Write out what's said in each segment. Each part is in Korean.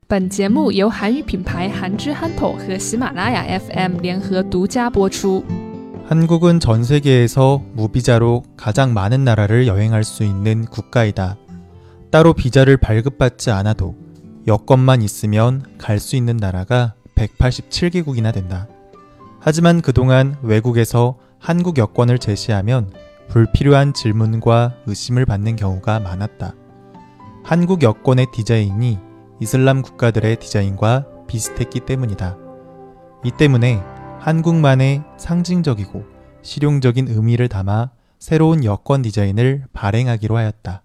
本节目由韩语品牌韩之憨头和喜马拉雅 FM 联合独家播出。 한국은 전 세계에서 무비자로 가장 많은 나라를 여행할 수 있는 국가이다. 따로 비자를 발급받지 않아도 여권만 있으면 갈 수 있는 나라가 187개국이나 된다. 하지만 그동안 외국에서 한국 여권을 제시하면 불필요한 질문과 의심을 받는 경우가 많았다. 한국 여권의 디자인이 이슬람 국가들의 디자인과 비슷했기 때문이다. 이 때문에 한국만의 상징적이고 실용적인 의미를 담아 새로운 여권 디자인을 발행하기로 하였다.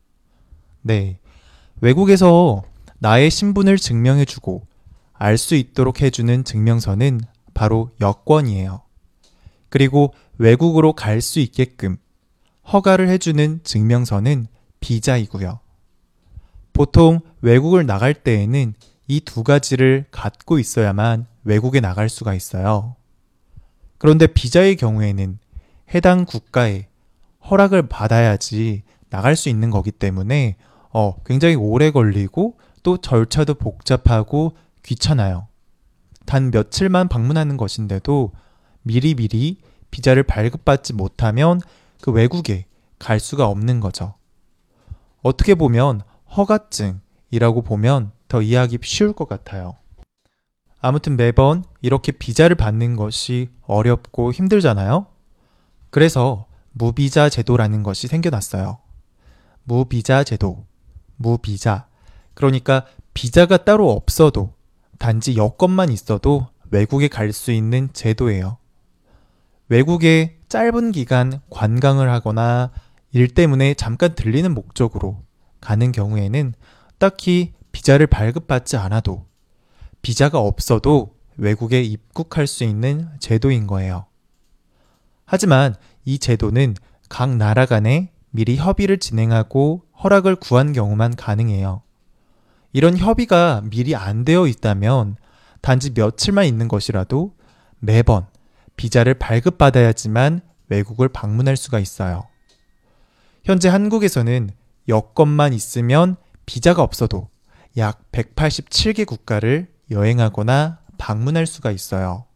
네, 외국에서 나의 신분을 증명해주고 알 수 있도록 해주는 증명서는 바로 여권이에요. 그리고 외국으로 갈 수 있게끔 허가를 해주는 증명서는 비자이고요. 보통 외국을 나갈 때에는 이 두 가지를 갖고 있어야만 외국에 나갈 수가 있어요. 그런데 비자의 경우에는 해당 국가에 허락을 받아야지 나갈 수 있는 거기 때문에 굉장히 오래 걸리고 또 절차도 복잡하고 귀찮아요. 단 며칠만 방문하는 것인데도 미리미리 비자를 발급받지 못하면 그 외국에 갈 수가 없는 거죠. 어떻게 보면 허가증이라고 보면 더 이해하기 쉬울 것 같아요. 아무튼 매번 이렇게 비자를 받는 것이 어렵고 힘들잖아요. 그래서 무비자 제도라는 것이 생겨났어요. 무비자 제도, 무비자. 그러니까 비자가 따로 없어도 단지 여권만 있어도 외국에 갈 수 있는 제도예요. 외국에 짧은 기간 관광을 하거나 일 때문에 잠깐 들리는 목적으로 가는 경우에는 딱히 비자를 발급받지 않아도 비자가 없어도 외국에 입국할 수 있는 제도인 거예요. 하지만 이 제도는 각 나라 간에 미리 협의를 진행하고 허락을 구한 경우만 가능해요. 이런 협의가 미리 안 되어 있다면 단지 며칠만 있는 것이라도 매번 비자를 발급받아야지만 외국을 방문할 수가 있어요. 현재 한국에서는 여권만 있으면 비자가 없어도 약 187개 국가를 여행하거나 방문할 수가 있어요.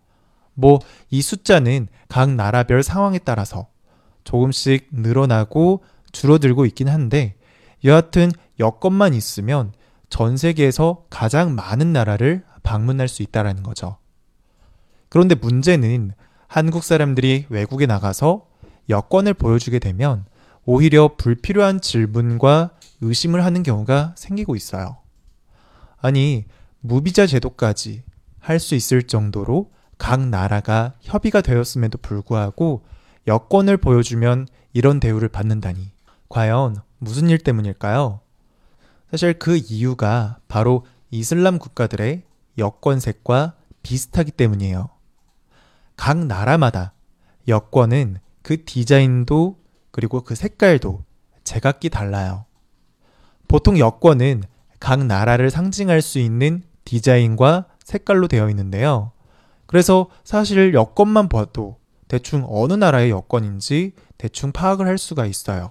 이 숫자는 각 나라별 상황에 따라서 조금씩 늘어나고 줄어들고 있긴 한데 여하튼 여권만 있으면 전 세계에서 가장 많은 나라를 방문할 수 있다는 거죠. 그런데 문제는 한국 사람들이 외국에 나가서 여권을 보여주게 되면 오히려 불필요한 질문과 의심을 하는 경우가 생기고 있어요. 아니, 무비자 제도까지 할 수 있을 정도로 각 나라가 협의가 되었음에도 불구하고 여권을 보여주면 이런 대우를 받는다니 과연 무슨 일 때문일까요? 사실 그 이유가 바로 이슬람 국가들의 여권색과 비슷하기 때문이에요. 각 나라마다 여권은 그 디자인도 그리고 그 색깔도 제각기 달라요. 보통 여권은 각 나라를 상징할 수 있는 디자인과 색깔로 되어 있는데요. 그래서 사실 여권만 봐도 대충 어느 나라의 여권인지 대충 파악을 할 수가 있어요.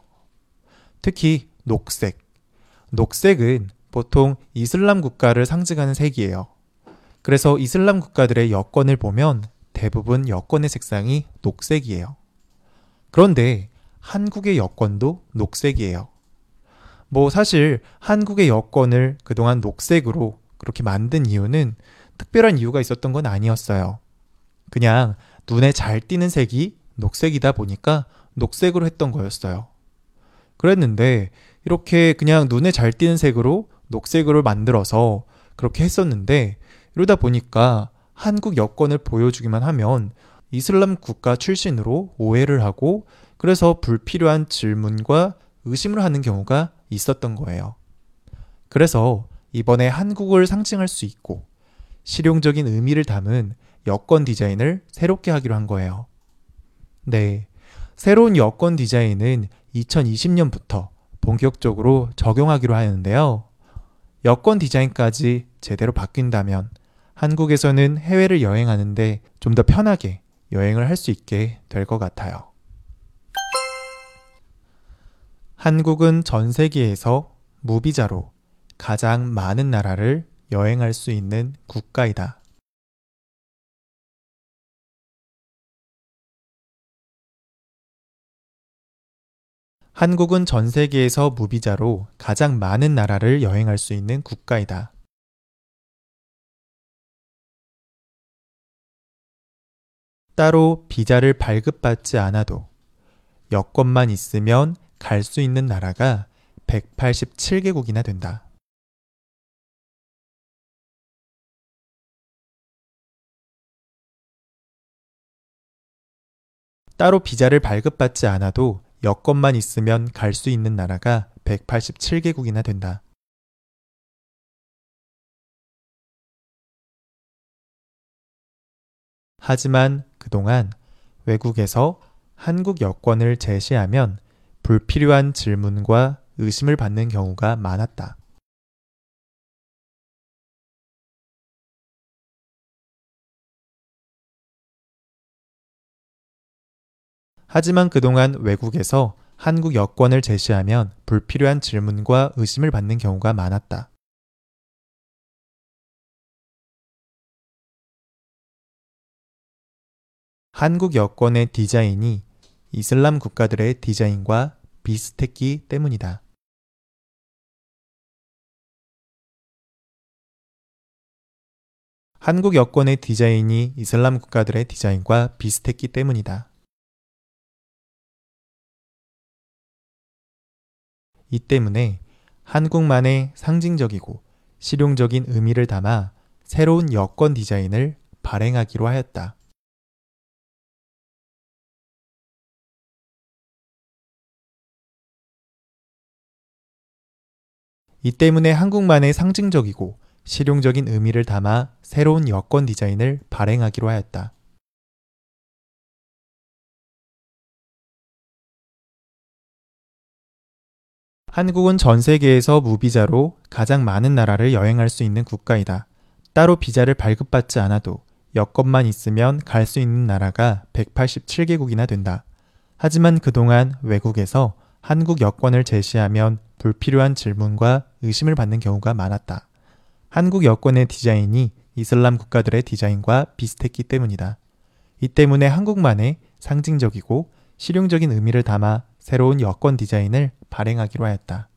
특히 녹색. 녹색은 보통 이슬람 국가를 상징하는 색이에요. 그래서 이슬람 국가들의 여권을 보면 대부분 여권의 색상이 녹색이에요. 그런데 한국의 여권도 녹색이에요. 사실 한국의 여권을 그동안 녹색으로 그렇게 만든 이유는 특별한 이유가 있었던 건 아니었어요. 그냥 눈에 잘 띄는 색이 녹색이다 보니까 녹색으로 했던 거였어요. 그랬는데 이렇게 그냥 눈에 잘 띄는 색으로 녹색으로 만들어서 그렇게 했었는데 이러다 보니까 한국 여권을 보여주기만 하면 이슬람 국가 출신으로 오해를 하고 그래서 불필요한 질문과 의심을 하는 경우가 있었던 거예요. 그래서 이번에 한국을 상징할 수 있고 실용적인 의미를 담은 여권 디자인을 새롭게 하기로 한 거예요. 네, 새로운 여권 디자인은 2020년부터 본격적으로 적용하기로 하는데요. 여권 디자인까지 제대로 바뀐다면 한국에서는 해외를 여행하는데 좀 더 편하게 여행을 할 수 있게 될 것 같아요. 한국은 전 세계에서 무비자로 가장 많은 나라를 여행할 수 있는 국가이다. 한국은 전 세계에서 무비자로 가장 많은 나라를 여행할 수 있는 국가이다. 따로 비자를 발급받지 않아도 여권만 있으면 갈 수 있는 나라가 187개국이나 된다. 따로 비자를 발급받지 않아도 여권만 있으면 갈 수 있는 나라가 187개국이나 된다. 하지만 그동안 외국에서 한국 여권을 제시하면 불필요한 질문과 의심을 받는 경우가 많았다. 하지만 그동안 외국에서 한국 여권을 제시하면 불필요한 질문과 의심을 받는 경우가 많았다. 한국 여권의 디자인이 이슬람 국가들의 디자인과 비슷했기 때문이다. 한국 여권의 디자인이 이슬람 국가들의 디자인과 비슷했기 때문이다. 이 때문에 한국만의 상징적이고 실용적인 의미를 담아 새로운 여권 디자인을 발행하기로 하였다. 이 때문에 한국만의 상징적이고 실용적인 의미를 담아 새로운 여권 디자인을 발행하기로 하였다. 한국은 전 세계에서 무비자로 가장 많은 나라를 여행할 수 있는 국가이다. 따로 비자를 발급받지 않아도 여권만 있으면 갈 수 있는 나라가 187개국이나 된다. 하지만 그동안 외국에서 한국 여권을 제시하면 불필요한 질문과 의심을 받는 경우가 많았다. 한국 여권의 디자인이 이슬람 국가들의 디자인과 비슷했기 때문이다. 이 때문에 한국만의 상징적이고 실용적인 의미를 담아 새로운 여권 디자인을 발행하기로 하였다.